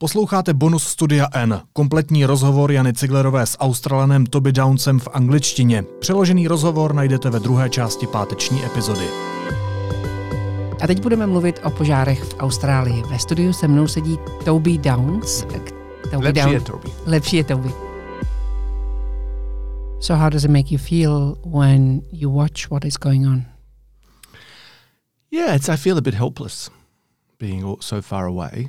Posloucháte bonus Studia N, kompletní rozhovor Jany Ciglerové s Australanem Toby Downsem v angličtině. Přeložený rozhovor najdete ve druhé části páteční epizody. A teď budeme mluvit o požárech v Austrálii. Ve studiu se mnou sedí Toby Downs. Lepší je Toby. So how does it make you feel when you watch what is going on? Yeah, I feel a bit helpless being so far away.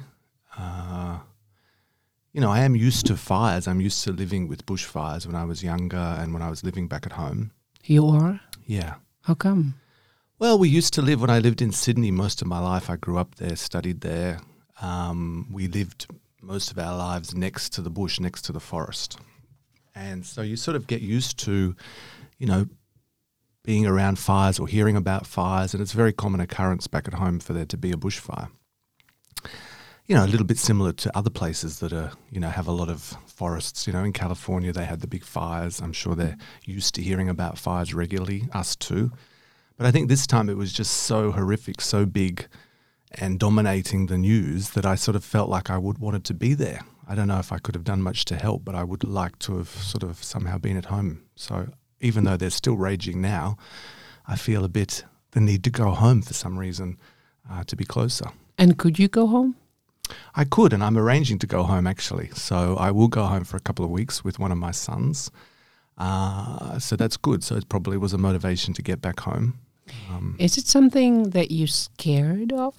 I am used to fires. I'm used to living with bushfires when I was younger and when I was living back at home. You are? Yeah. How come? Well, we used to live, when I lived in Sydney most of my life, I grew up there, studied there. We lived most of our lives next to the bush, next to the forest. And so you sort of get used to, being around fires or hearing about fires, and it's a very common occurrence back at home for there to be a bushfire. A little bit similar to other places that are, have a lot of forests. In California they had the big fires. I'm sure they're used to hearing about fires regularly, us too. But I think this time it was just so horrific, so big and dominating the news that I sort of felt like I would wanted to be there. I don't know if I could have done much to help, but I would like to have sort of somehow been at home. So even though they're still raging now, I feel a bit the need to go home for some reason, to be closer. And could you go home? I could, and I'm arranging to go home actually. So I will go home for a couple of weeks with one of my sons. So that's good. So it probably was a motivation to get back home. Is it something that you're scared of?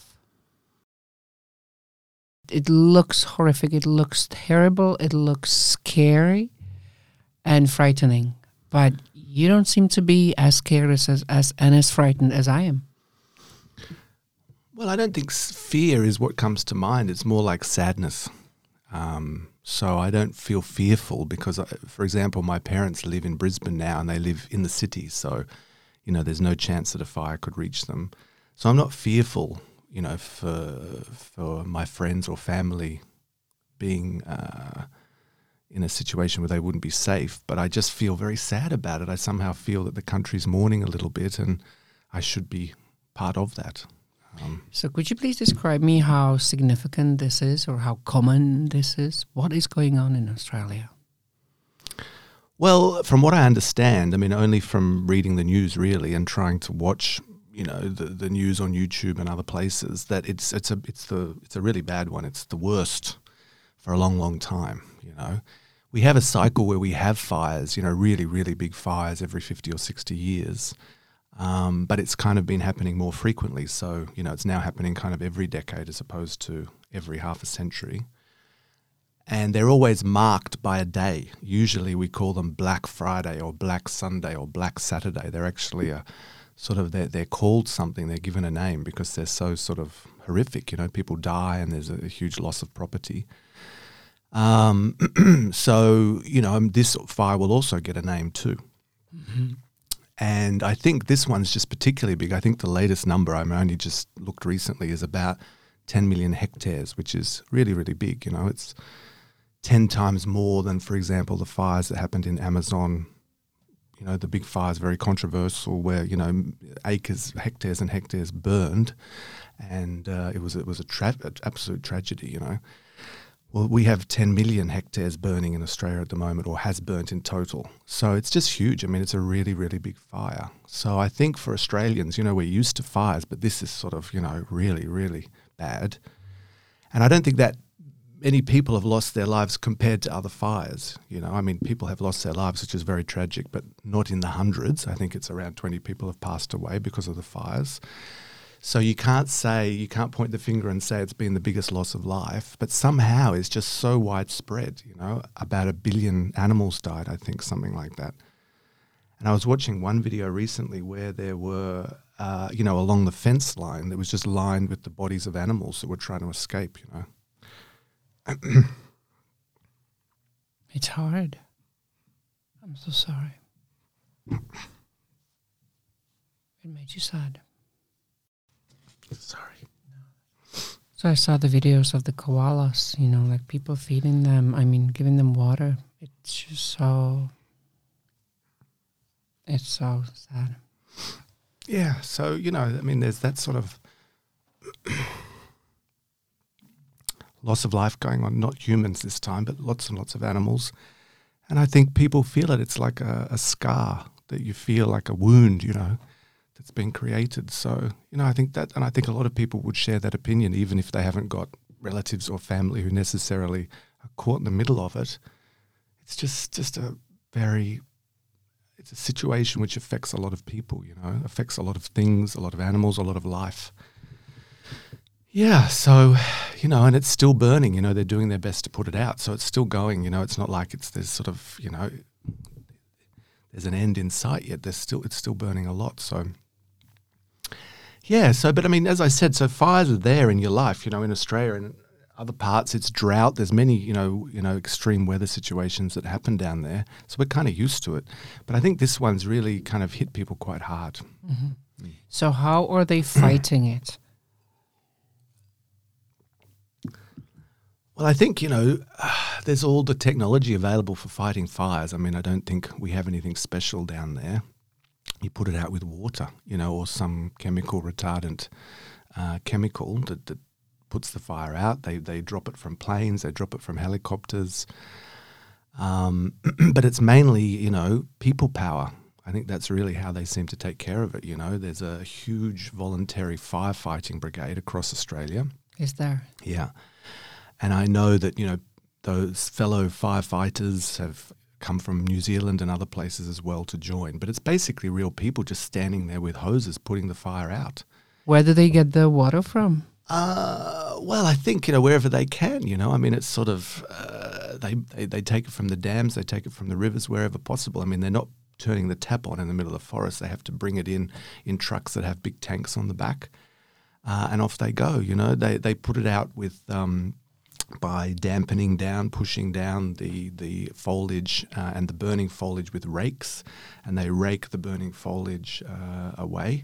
It looks horrific. It looks terrible. It looks scary and frightening. But you don't seem to be as scared as frightened as I am. Well, I don't think fear is what comes to mind. It's more like sadness. So I don't feel fearful because, for example, my parents live in Brisbane now and they live in the city. So, there's no chance that a fire could reach them. So I'm not fearful, for my friends or family being in a situation where they wouldn't be safe. But I just feel very sad about it. I somehow feel that the country's mourning a little bit and I should be part of that. So could you please describe me how significant this is or how common this is? What is going on in Australia? Well, from what I understand, only from reading the news really and trying to watch, the news on YouTube and other places, that it's a really bad one. It's the worst for a long, long time. We have a cycle where we have fires, really, really big fires every 50 or 60 years. But it's kind of been happening more frequently. So, it's now happening kind of every decade as opposed to every half a century. And they're always marked by a day. Usually we call them Black Friday or Black Sunday or Black Saturday. They're actually they're called something. They're given a name because they're so sort of horrific. People die and there's a huge loss of property. So, this fire will also get a name too. Mm-hmm. And I think this one's just particularly big. I think the latest number, I only just looked recently, is about 10 million hectares, which is really, really big. It's 10 times more than, for example, the fires that happened in Amazon. The big fires, very controversial, where, acres, hectares and hectares burned. And it was an absolute tragedy, Well, we have 10 million hectares burning in Australia at the moment, or has burnt in total. So it's just huge. It's a really, really big fire. So I think for Australians, we're used to fires, but this is sort of, really, really bad. And I don't think that many people have lost their lives compared to other fires. People have lost their lives, which is very tragic, but not in the hundreds. I think it's around 20 people have passed away because of the fires. So you can't point the finger and say it's been the biggest loss of life, but somehow it's just so widespread, about 1 billion animals died, I think, something like that. And I was watching one video recently where there were, along the fence line, that was just lined with the bodies of animals that were trying to escape, It's hard. I'm so sorry. It made you sad. Sorry. So I saw the videos of the koalas, like people feeding them, giving them water. It's just it's so sad. Yeah, so, there's that sort of loss of life going on, not humans this time, but lots and lots of animals. And I think people feel it. It's like a scar that you feel, like a wound, that's been created. So, I think that, and I think a lot of people would share that opinion, even if they haven't got relatives or family who necessarily are caught in the middle of it. It's just it's a situation which affects a lot of people, affects a lot of things, a lot of animals, a lot of life. Yeah, so, and it's still burning, they're doing their best to put it out. So it's still going, it's not like there's sort of, there's an end in sight yet. It's still burning a lot. So, yeah, but I mean, as I said, so fires are there in your life, in Australia and other parts, it's drought. There's many, extreme weather situations that happen down there. So we're kind of used to it. But I think this one's really kind of hit people quite hard. Mm-hmm. So how are they fighting it? Well, I think, there's all the technology available for fighting fires. I mean, I don't think we have anything special down there. You put it out with water, or some chemical retardant chemical that puts the fire out. They drop it from planes, they drop it from helicopters. But it's mainly, people power. I think that's really how they seem to take care of it, There's a huge voluntary firefighting brigade across Australia. Is there? Yeah. And I know that, those fellow firefighters have come from New Zealand and other places as well to join. But it's basically real people just standing there with hoses putting the fire out. Where do they get the water from? Well, I think, wherever they can, I mean, it's sort of, they take it from the dams, they take it from the rivers, wherever possible. I mean, they're not turning the tap on in the middle of the forest. They have to bring it in trucks that have big tanks on the back. And off they go, They put it out with by dampening down, pushing down the foliage and the burning foliage with rakes, and they rake the burning foliage away.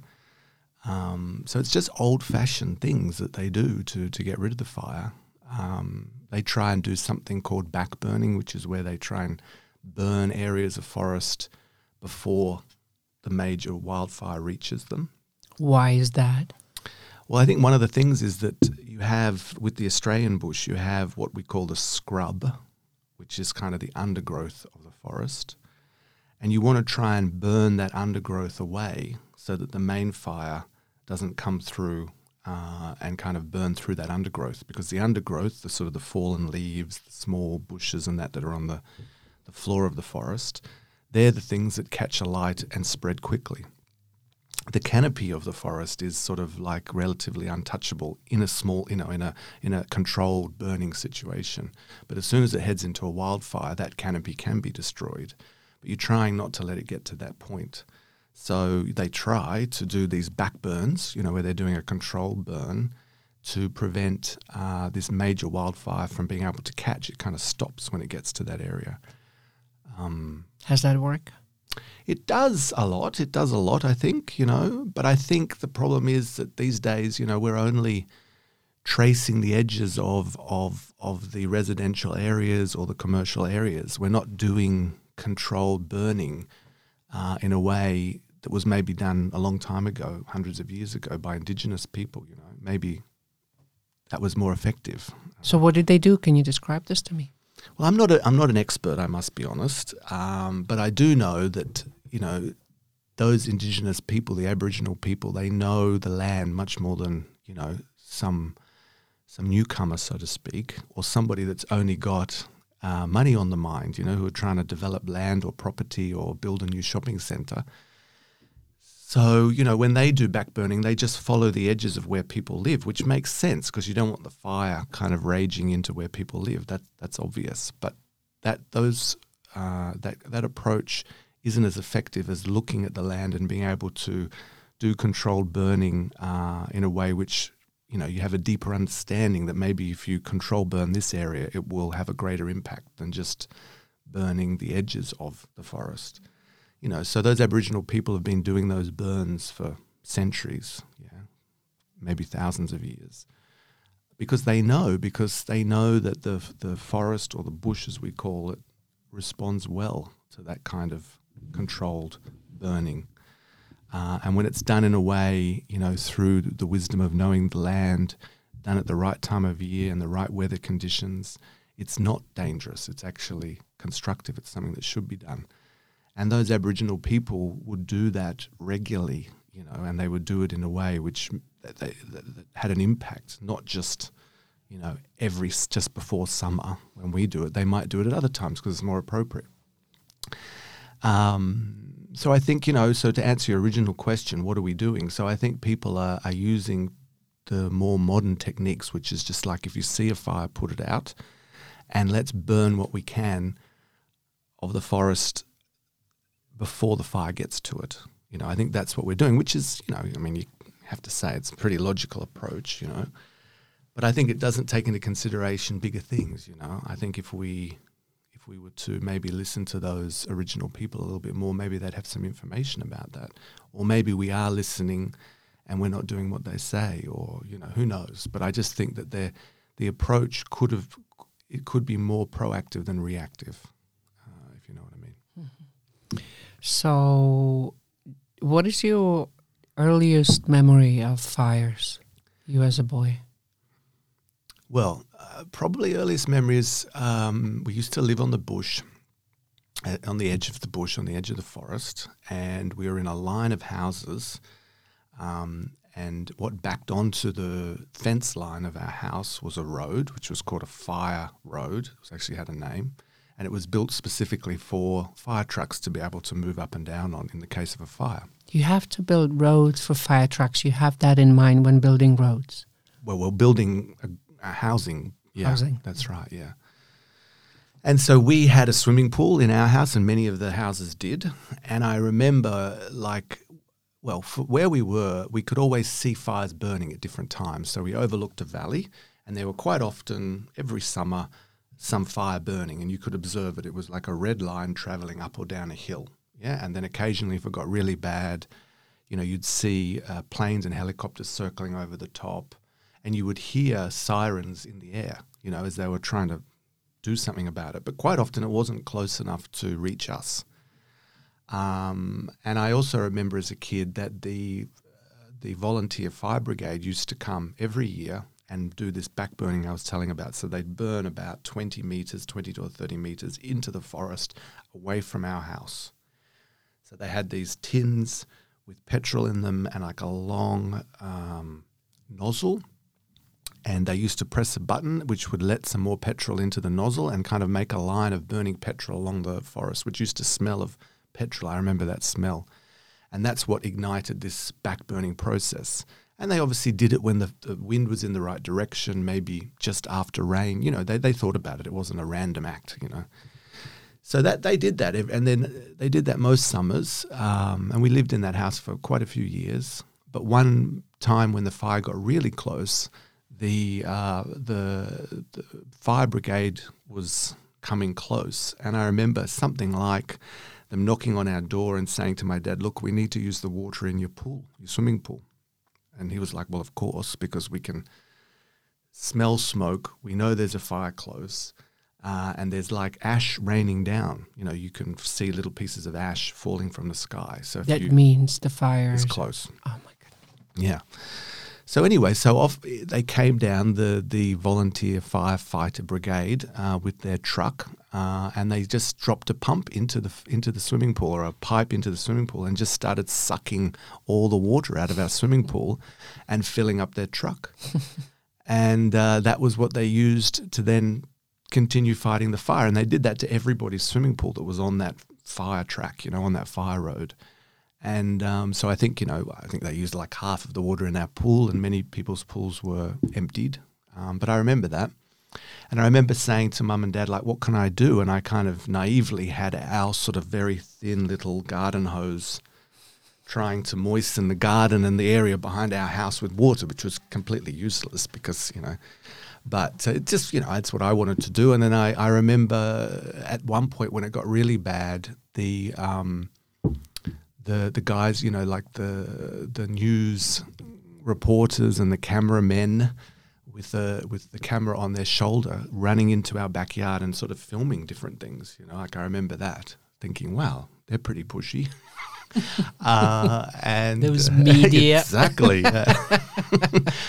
So it's just old-fashioned things that they do to get rid of the fire. They try and do something called backburning, which is where they try and burn areas of forest before the major wildfire reaches them. Why is that? Well, I think one of the things is that you have, with the Australian bush, you have what we call the scrub, which is kind of the undergrowth of the forest. And you want to try and burn that undergrowth away so that the main fire doesn't come through and kind of burn through that undergrowth. Because the undergrowth, the sort of the fallen leaves, the small bushes and that are on the floor of the forest, they're the things that catch a light and spread quickly. The canopy of the forest is sort of like relatively untouchable in a small, in a controlled burning situation. But as soon as it heads into a wildfire, that canopy can be destroyed. But you're trying not to let it get to that point. So they try to do these backburns, where they're doing a controlled burn to prevent this major wildfire from being able to catch. It kind of stops when it gets to that area. Has that worked? It does a lot. It does a lot, I think, But I think the problem is that these days, we're only tracing the edges of the residential areas or the commercial areas. We're not doing controlled burning in a way that was maybe done a long time ago, hundreds of years ago, by Indigenous people. Maybe that was more effective. So what did they do? Can you describe this to me? Well, I'm not an expert, I must be honest, but I do know that those Indigenous people, the Aboriginal people, they know the land much more than some newcomer, so to speak, or somebody that's only got money on the mind, who are trying to develop land or property or build a new shopping centre. So, when they do backburning, they just follow the edges of where people live, which makes sense because you don't want the fire kind of raging into where people live. That's obvious. But that approach isn't as effective as looking at the land and being able to do controlled burning in a way which, you have a deeper understanding that maybe if you control burn this area, it will have a greater impact than just burning the edges of the forest. So those Aboriginal people have been doing those burns for centuries, maybe thousands of years, because they know that the forest, or the bush as we call it, responds well to that kind of controlled burning. And when it's done in a way, through the wisdom of knowing the land, done at the right time of year and the right weather conditions, it's not dangerous. It's actually constructive. It's something that should be done. And those Aboriginal people would do that regularly, you know, and they would do it in a way which that had an impact, not just, you know, just before summer when we do it. They might do it at other times because it's more appropriate. So I think, you know, so to answer your original question, what are we doing? So I think people are using the more modern techniques, which is just like if you see a fire, put it out, and let's burn what we can of the forest before the fire gets to it. You know, I think that's what we're doing, which is, you know, I mean, you have to say it's a pretty logical approach, you know. But I think it doesn't take into consideration bigger things, you know. I think if we were to maybe listen to those original people a little bit more, maybe they'd have some information about that. Or maybe we are listening and we're not doing what they say, or, you know, who knows. But I just think that the approach could be more proactive than reactive, if you know what I mean. Mm-hmm. So what is your earliest memory of fires, you as a boy? Well, probably earliest memory is we used to live on the bush, on the edge of the bush, on the edge of the forest, and we were in a line of houses, and what backed onto the fence line of our house was a road, which was called a fire road. It actually had a name, and it was built specifically for fire trucks to be able to move up and down on in the case of a fire. You have to build roads for fire trucks. You have that in mind when building roads. Well, we're building housing. Yeah, housing. That's right, yeah. And so we had a swimming pool in our house, and many of the houses did. And I remember, where we were, we could always see fires burning at different times. So we overlooked a valley, and there were quite often, every summer, some fire burning, and you could observe it. It was like a red line travelling up or down a hill. Yeah, and then occasionally, if it got really bad, you know, you'd see planes and helicopters circling over the top, and you would hear sirens in the air, you know, as they were trying to do something about it. But quite often it wasn't close enough to reach us. And I also remember as a kid that the volunteer fire brigade used to come every year and do this backburning I was telling about. So they'd burn about 20 to 30 meters into the forest away from our house. So they had these tins with petrol in them and like a long nozzle. And they used to press a button which would let some more petrol into the nozzle and kind of make a line of burning petrol along the forest, which used to smell of petrol. I remember that smell. And that's what ignited this back-burning process. And they obviously did it when the wind was in the right direction, maybe just after rain. You know, they thought about it. It wasn't a random act, you know. So that they did that. And then they did that most summers. And we lived in that house for quite a few years. But one time when the fire got really close, the fire brigade was coming close, and I remember something like them knocking on our door and saying to my dad, "Look, we need to use the water in your pool, your swimming pool." And he was like, "Well, of course, because we can smell smoke. We know there's a fire close, and there's like ash raining down. You know, you can see little pieces of ash falling from the sky. So that means the fire is close." Oh my God! Yeah. So anyway, off they came down, the volunteer firefighter brigade with their truck, and they just dropped a pump into the swimming pool, or a pipe into the swimming pool, and just started sucking all the water out of our swimming pool and filling up their truck. And that was what they used to then continue fighting the fire. And they did that to everybody's swimming pool that was on that fire track, you know, on that fire road. And so I think they used like half of the water in our pool, and many people's pools were emptied. But I remember that. And I remember saying to Mum and Dad, like, what can I do? And I kind of naively had our sort of very thin little garden hose trying to moisten the garden and the area behind our house with water, which was completely useless because, you know, but it just, you know, it's what I wanted to do. And then I remember at one point when it got really bad, the guys, you know, like the news reporters and the cameramen with the camera on their shoulder running into our backyard and sort of filming different things, you know, like I remember that thinking, wow, they're pretty pushy. And there was media. Exactly.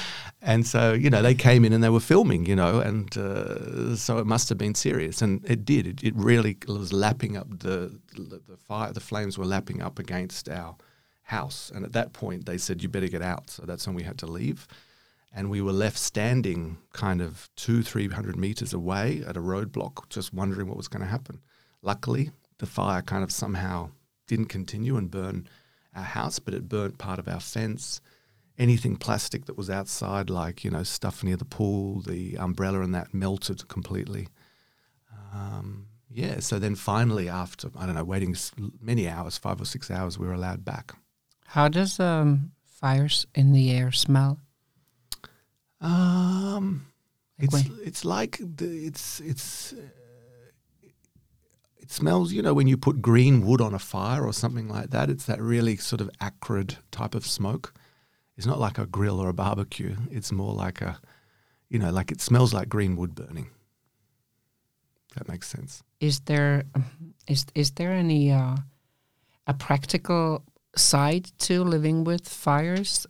And so, they came in and they were filming, and so it must have been serious. And it did. It really was lapping up the fire. The flames were lapping up against our house. And at that point, they said, you better get out. So that's when we had to leave. And we were left standing kind of 200-300 meters away at a roadblock, just wondering what was going to happen. Luckily, the fire kind of somehow didn't continue and burn our house, but it burnt part of our fence. Anything plastic that was outside, like, stuff near the pool, the umbrella and that melted completely. So then finally after, waiting many hours, 5 or 6 hours, we were allowed back. How does fires in the air smell? It smells, when you put green wood on a fire or something like that, it's that really sort of acrid type of smoke. It's not like a grill or a barbecue. It's more like like it smells like green wood burning. That makes sense. Is there any a practical side to living with fires?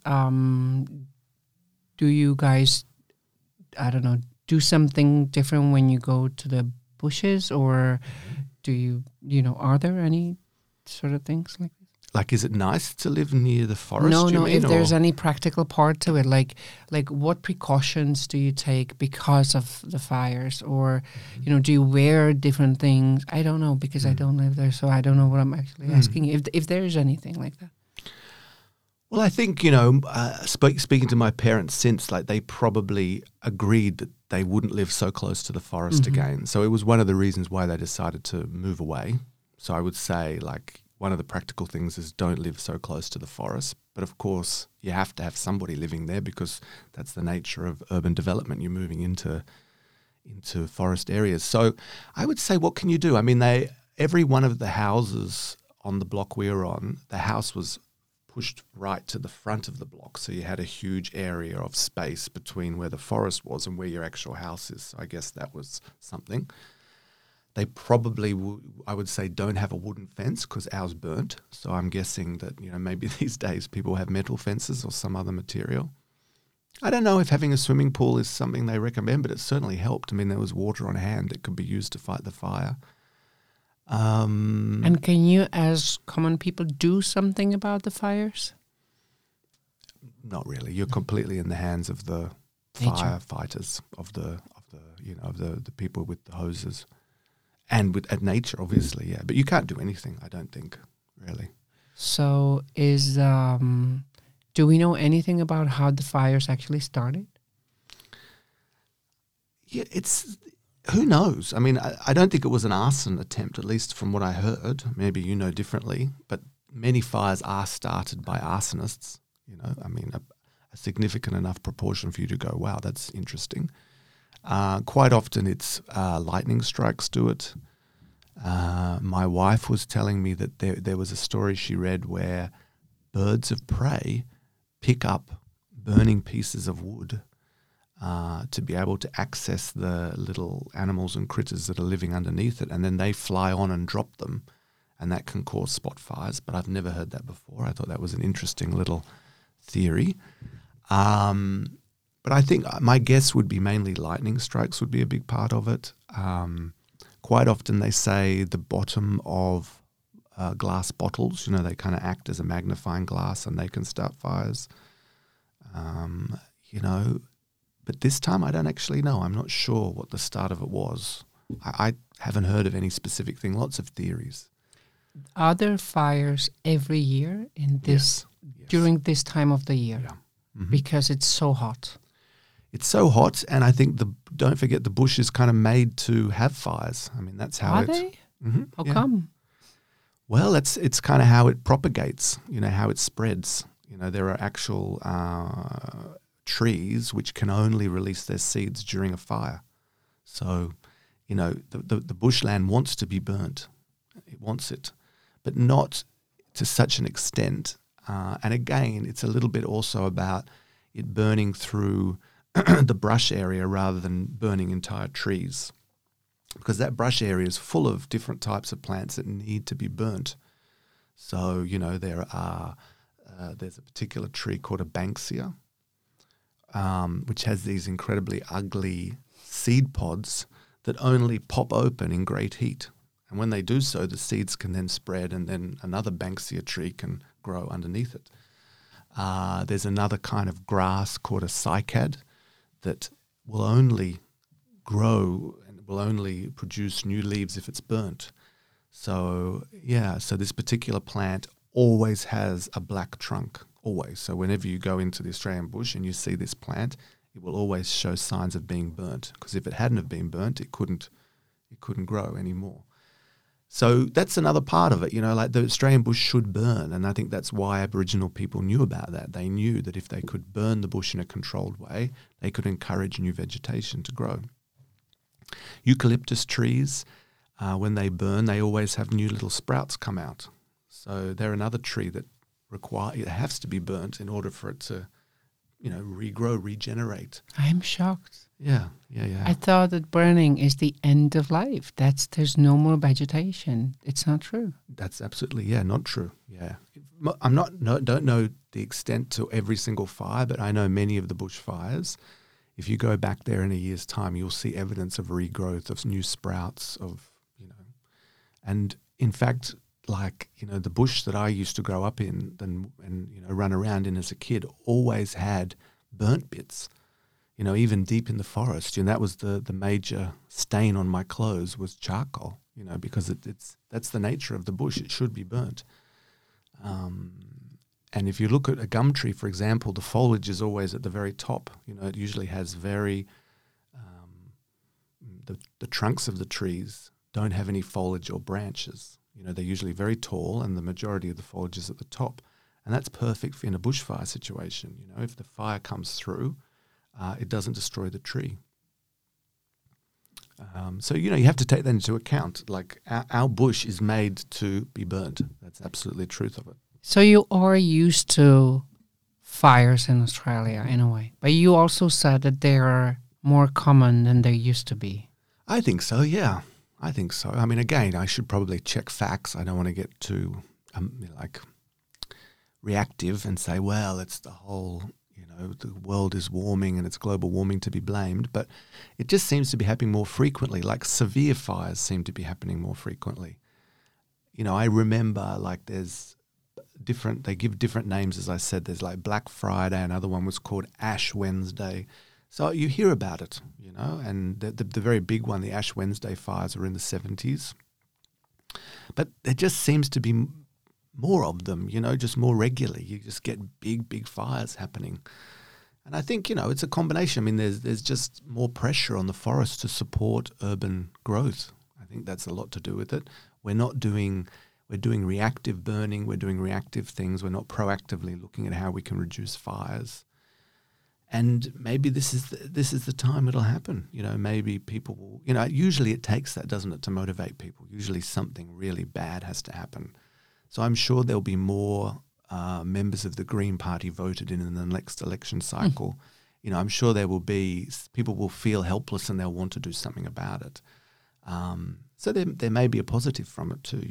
Do you guys, do something different when you go to the bushes, or do you, are there any sort of things like this? Like, is it nice to live near the forest? No. If there's any practical part to it, like what precautions do you take because of the fires, or do you wear different things? I don't know, because I don't live there, so I don't know what I'm actually asking. If there's anything like that. Well, I think, speaking to my parents since, like, they probably agreed that they wouldn't live so close to the forest again. So it was one of the reasons why they decided to move away. So I would say, like, one of the practical things is don't live so close to the forest. But of course, you have to have somebody living there because that's the nature of urban development. You're moving into forest areas. So I would say, what can you do? I mean, every one of the houses on the block we were on, the house was pushed right to the front of the block. So you had a huge area of space between where the forest was and where your actual house is. So I guess that was something. They probably, I would say, don't have a wooden fence because ours burnt. So I'm guessing that, maybe these days people have metal fences or some other material. I don't know if having a swimming pool is something they recommend, but it certainly helped. I mean, there was water on hand that could be used to fight the fire. And can you, as common people, do something about the fires? Not really. You're completely in the hands of the firefighters, of the people with the hoses, and at nature, obviously, yeah. But you can't do anything, I don't think, really. So, do we know anything about how the fires actually started? Yeah, who knows? I mean, I don't think it was an arson attempt, at least from what I heard. Maybe you know differently, but many fires are started by arsonists. I mean, a significant enough proportion for you to go, wow, that's interesting. Quite often it's lightning strikes do it. My wife was telling me that there was a story she read where birds of prey pick up burning pieces of wood to be able to access the little animals and critters that are living underneath it, and then they fly on and drop them, and that can cause spot fires. But I've never heard that before. I thought that was an interesting little theory. But I think my guess would be mainly lightning strikes would be a big part of it. Quite often they say the bottom of glass bottles, they kind of act as a magnifying glass and they can start fires. But this time I don't actually know. I'm not sure what the start of it was. I haven't heard of any specific thing. Lots of theories. Are there fires every year in this during this time of the year? Yeah. Mm-hmm. Because it's so hot. It's so hot, and I think don't forget the bush is kind of made to have fires. I mean, that's how Are they? Mm-hmm, How come? Well, it's kind of how it propagates. How it spreads. There are actual trees which can only release their seeds during a fire. So, the bushland wants to be burnt. It wants it, but not to such an extent. And again, it's a little bit also about it burning through the brush area rather than burning entire trees, because that brush area is full of different types of plants that need to be burnt. So, there's a particular tree called a banksia, which has these incredibly ugly seed pods that only pop open in great heat. And when they do so, the seeds can then spread and then another Banksia tree can grow underneath it. There's another kind of grass called a cycad that will only grow and will only produce new leaves if it's burnt. So this particular plant always has a black trunk, always. So whenever you go into the Australian bush and you see this plant, it will always show signs of being burnt, because if it hadn't have been burnt, it couldn't grow anymore. So that's another part of it, like the Australian bush should burn, and I think that's why Aboriginal people knew about that. They knew that if they could burn the bush in a controlled way, they could encourage new vegetation to grow. Eucalyptus trees, when they burn, they always have new little sprouts come out. So they're another tree that it has to be burnt in order for it to, regrow, regenerate. I'm shocked. Yeah. I thought that burning is the end of life. There's no more vegetation. It's not true. That's absolutely, not true. Yeah. Don't know the extent to every single fire, but I know many of the bushfires. If you go back there in a year's time, you'll see evidence of regrowth, of new sprouts, and in fact, the bush that I used to grow up in and run around in as a kid always had burnt bits, even deep in the forest. And that was the major stain on my clothes was charcoal, because that's the nature of the bush. It should be burnt. And if you look at a gum tree, for example, the foliage is always at the very top. It usually has the trunks of the trees don't have any foliage or branches. They're usually very tall and the majority of the foliage is at the top. And that's perfect in a bushfire situation. If the fire comes through, it doesn't destroy the tree. So, you have to take that into account. Like our bush is made to be burnt. That's absolutely the truth of it. So you are used to fires in Australia in a way, but you also said that they are more common than they used to be. I think so, yeah. I think so. I mean, again, I should probably check facts. I don't want to get too reactive and say, well, it's the whole, the world is warming and it's global warming to be blamed. But it just seems to be happening more frequently. Like severe fires seem to be happening more frequently. I remember there's they give different names, as I said. There's like Black Friday, another one was called Ash Wednesday. So you hear about it, and the very big one, the Ash Wednesday fires, were in the 70s. But there just seems to be more of them, just more regularly. You just get big fires happening. And I think, it's a combination. I mean, there's just more pressure on the forest to support urban growth. I think that's a lot to do with it. We're doing reactive burning. We're doing reactive things. We're not proactively looking at how we can reduce fires. And maybe this is the time it'll happen. Maybe people will, usually it takes that, doesn't it, to motivate people. Usually something really bad has to happen. So I'm sure there'll be more members of the Green Party voted in the next election cycle. I'm sure people will feel helpless and they'll want to do something about it. So there may be a positive from it too,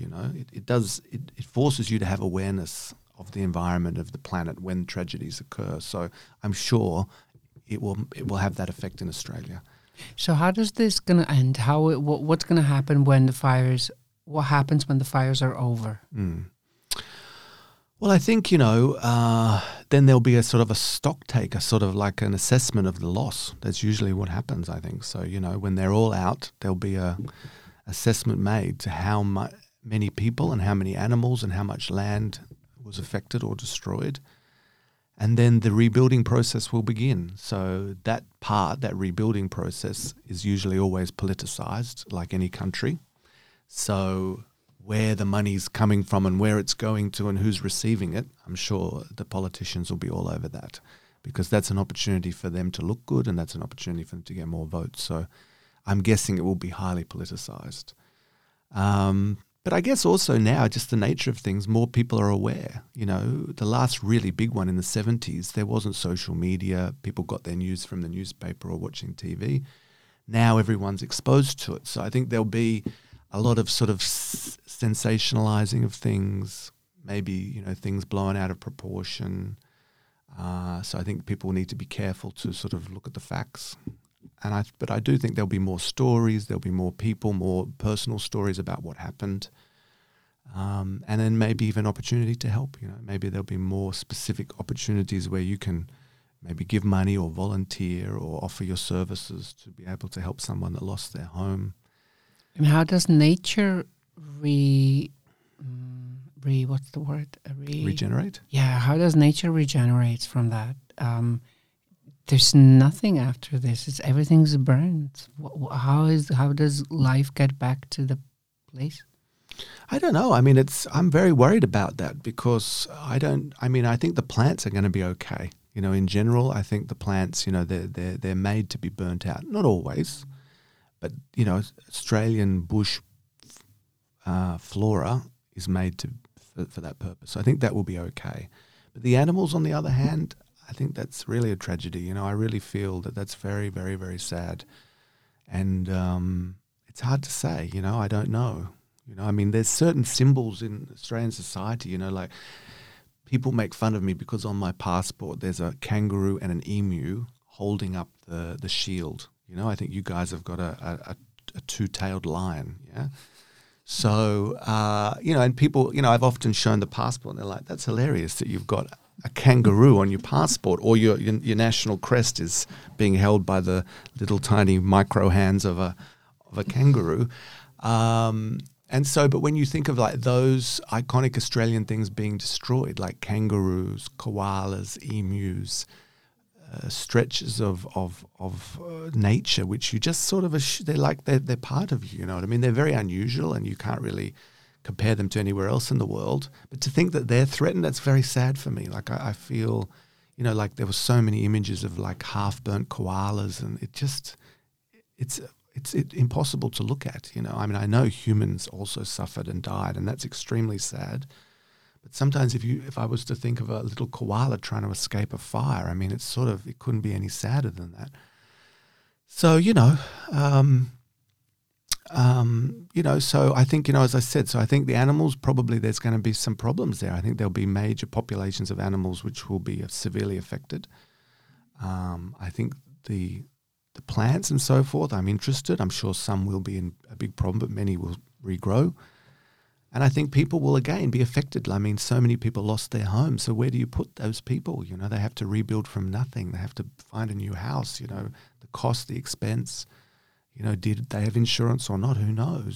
It forces you to have awareness of the environment, of the planet when tragedies occur. So I'm sure it will have that effect in Australia. So how does this going to end? What's going to happen when the fires? What happens when the fires are over? Well, I think then there'll be a sort of a stock take, a sort of like an assessment of the loss. That's usually what happens, I think. So when they're all out, there'll be a assessment made to how many people and how many animals and how much land was affected or destroyed. And then the rebuilding process will begin. So that rebuilding process is usually always politicized, like any country. So where the money's coming from and where it's going to and who's receiving it, I'm sure the politicians will be all over that, because that's an opportunity for them to look good and that's an opportunity for them to get more votes. So I'm guessing it will be highly politicized. But I guess also now, just the nature of things, more people are aware. The last really big one in the 70s, there wasn't social media. People got their news from the newspaper or watching TV. Now everyone's exposed to it. So I think there'll be a lot of sort of sensationalizing of things, maybe, things blown out of proportion. So I think people need to be careful to sort of look at the facts. But I do think there'll be more stories, there'll be more people, more personal stories about what happened. And then maybe even opportunity to help, maybe there'll be more specific opportunities where you can maybe give money or volunteer or offer your services to be able to help someone that lost their home. And how does nature what's the word? Regenerate? Yeah, how does nature regenerate from that? There's nothing after this. Everything's burned. How does life get back to the place? I don't know. I mean, I'm very worried about that because I think the plants are going to be okay. In general, I think the plants, they're made to be burnt out. Not always, but Australian bush flora is made for that purpose. So I think that will be okay. But the animals, on the other hand, I think that's really a tragedy. I really feel that that's very, very, very sad. And it's hard to say, I don't know. There's certain symbols in Australian society, like people make fun of me because on my passport there's a kangaroo and an emu holding up the shield. I think you guys have got a two-tailed lion, yeah? So, and people, I've often shown the passport and they're like, that's hilarious that you've got a kangaroo on your passport or your national crest is being held by the little tiny micro hands of a kangaroo. And so, but when you think of like those iconic Australian things being destroyed, like kangaroos, koalas, emus, stretches of nature, which you just sort of they're part of you. You know what I mean? They're very unusual, and you can't really compare them to anywhere else in the world. But to think that they're threatened, that's very sad for me. Like I feel, like there were so many images of like half-burnt koalas, and it's impossible to look at. I know humans also suffered and died, and that's extremely sad. But sometimes if I was to think of a little koala trying to escape a fire, it couldn't be any sadder than that. So, so I think, as I said, so I think the animals, probably there's going to be some problems there. I think there'll be major populations of animals which will be severely affected. I think the plants and so forth, I'm interested. I'm sure some will be in a big problem, but many will regrow. And I think people will again be affected. So many people lost their homes. So where do you put those people? They have to rebuild from nothing. They have to find a new house, the cost, the expense. Did they have insurance or not? Who knows,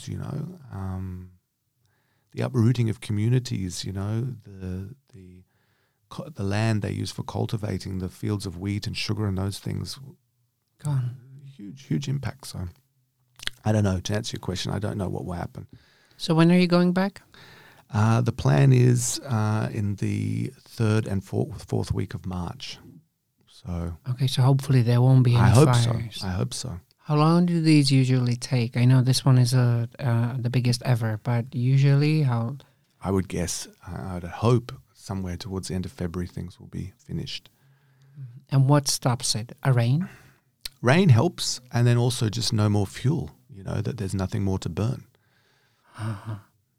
the uprooting of communities, the land they use for cultivating, the fields of wheat and sugar and those things. Gone. Huge impact. So I don't know. To answer your question, I don't know what will happen. So when are you going back? The plan is in the 3rd and 4th week of March. So okay, so hopefully there won't be any fires. I hope so. How long do these usually take? I know this one is the biggest ever, but usually how? I would guess, I'd hope somewhere towards the end of February things will be finished. And what stops it? A rain? Rain helps, and then also just no more fuel, that there's nothing more to burn. Uh-huh.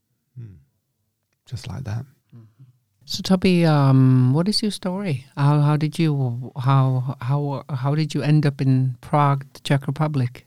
Just like that. Mm-hmm. So Toby, what is your story? How did you end up in Prague, the Czech Republic?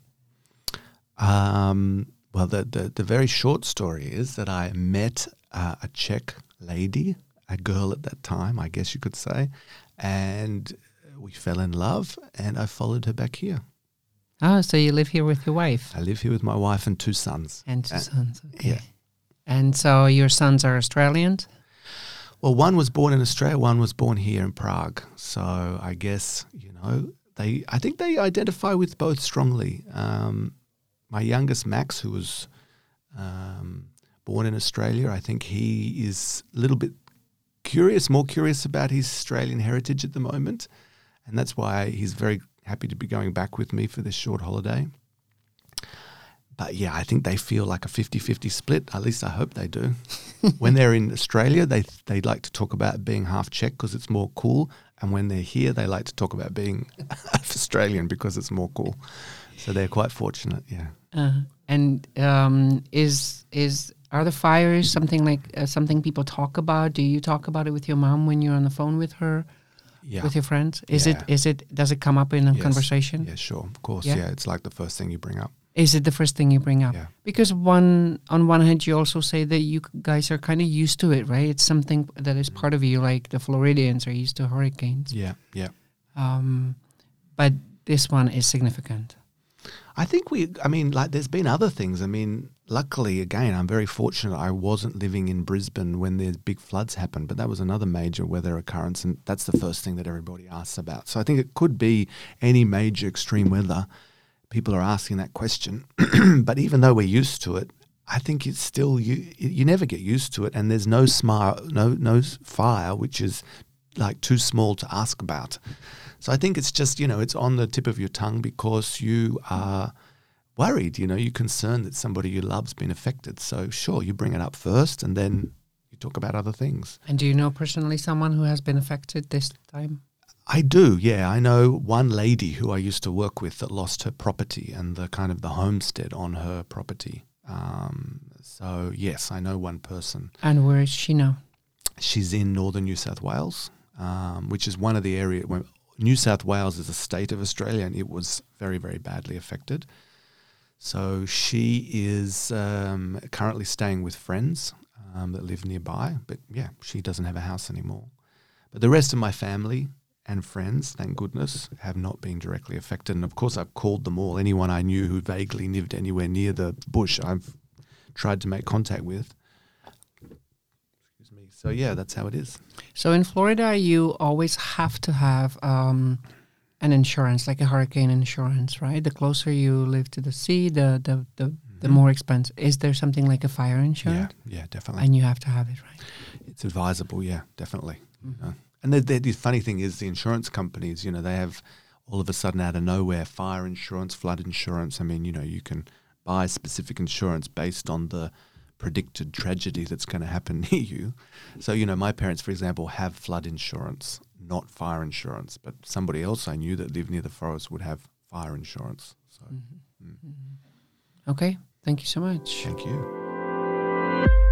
Well, the very short story is that I met a Czech lady, a girl at that time, I guess you could say, and we fell in love, and I followed her back here. Oh, so you live here with your wife? I live here with my wife and 2 sons. And 2 sons, okay. Yeah. And so your sons are Australians? Well, one was born in Australia, one was born here in Prague. So I guess, I think they identify with both strongly. My youngest, Max, who was born in Australia, I think he is a little bit more curious about his Australian heritage at the moment. And that's why he's very happy to be going back with me for this short holiday. But yeah, I think they feel like a 50-50 split. At least I hope they do. When they're in Australia, they like to talk about being half Czech because it's more cool. And when they're here, they like to talk about being half Australian because it's more cool. So they're quite fortunate, yeah. And are the fires something like something people talk about? Do you talk about it with your mom when you're on the phone with her? with your friends? Does it come up in a conversation? Yeah, sure, of course. Yeah, it's like the first thing you bring up. Is it the first thing you bring up? Yeah. Because on one hand, you also say that you guys are kind of used to it, right? It's something that is part of you, like the Floridians are used to hurricanes. Yeah. But this one is significant. I think there's been other things. I mean, luckily, again, I'm very fortunate I wasn't living in Brisbane when the big floods happened, but that was another major weather occurrence, and that's the first thing that everybody asks about. So I think it could be any major extreme weather. People are asking that question. But even though we're used to it, I think it's still, you never get used to it, and there's no fire which is like too small to ask about. So I think it's just, it's on the tip of your tongue because you are worried, you're concerned that somebody you love's been affected. So sure, you bring it up first and then you talk about other things. And do you know personally someone who has been affected this time? I do, yeah. I know one lady who I used to work with that lost her property and the homestead on her property. So yes, I know one person. And where is she now? She's in northern New South Wales, which is one of the areas where New South Wales is a state of Australia, and it was very, very badly affected. So she is currently staying with friends that live nearby. But yeah, she doesn't have a house anymore. But the rest of my family and friends, thank goodness, have not been directly affected. And of course, I've called them all. Anyone I knew who vaguely lived anywhere near the bush, I've tried to make contact with. Excuse me. So yeah, that's how it is. So in Florida, you always have to have an insurance, like a hurricane insurance, right? The closer you live to the sea, the more expensive. Is there something like a fire insurance? Yeah, definitely. And you have to have it, right? It's advisable, yeah, definitely. Mm-hmm. And the funny thing is the insurance companies, they have all of a sudden out of nowhere fire insurance, flood insurance. I mean, you can buy specific insurance based on the predicted tragedy that's going to happen near you. So, my parents, for example, have flood insurance, not fire insurance. But somebody else I knew that lived near the forest would have fire insurance. So, Okay. Thank you so much. Thank you.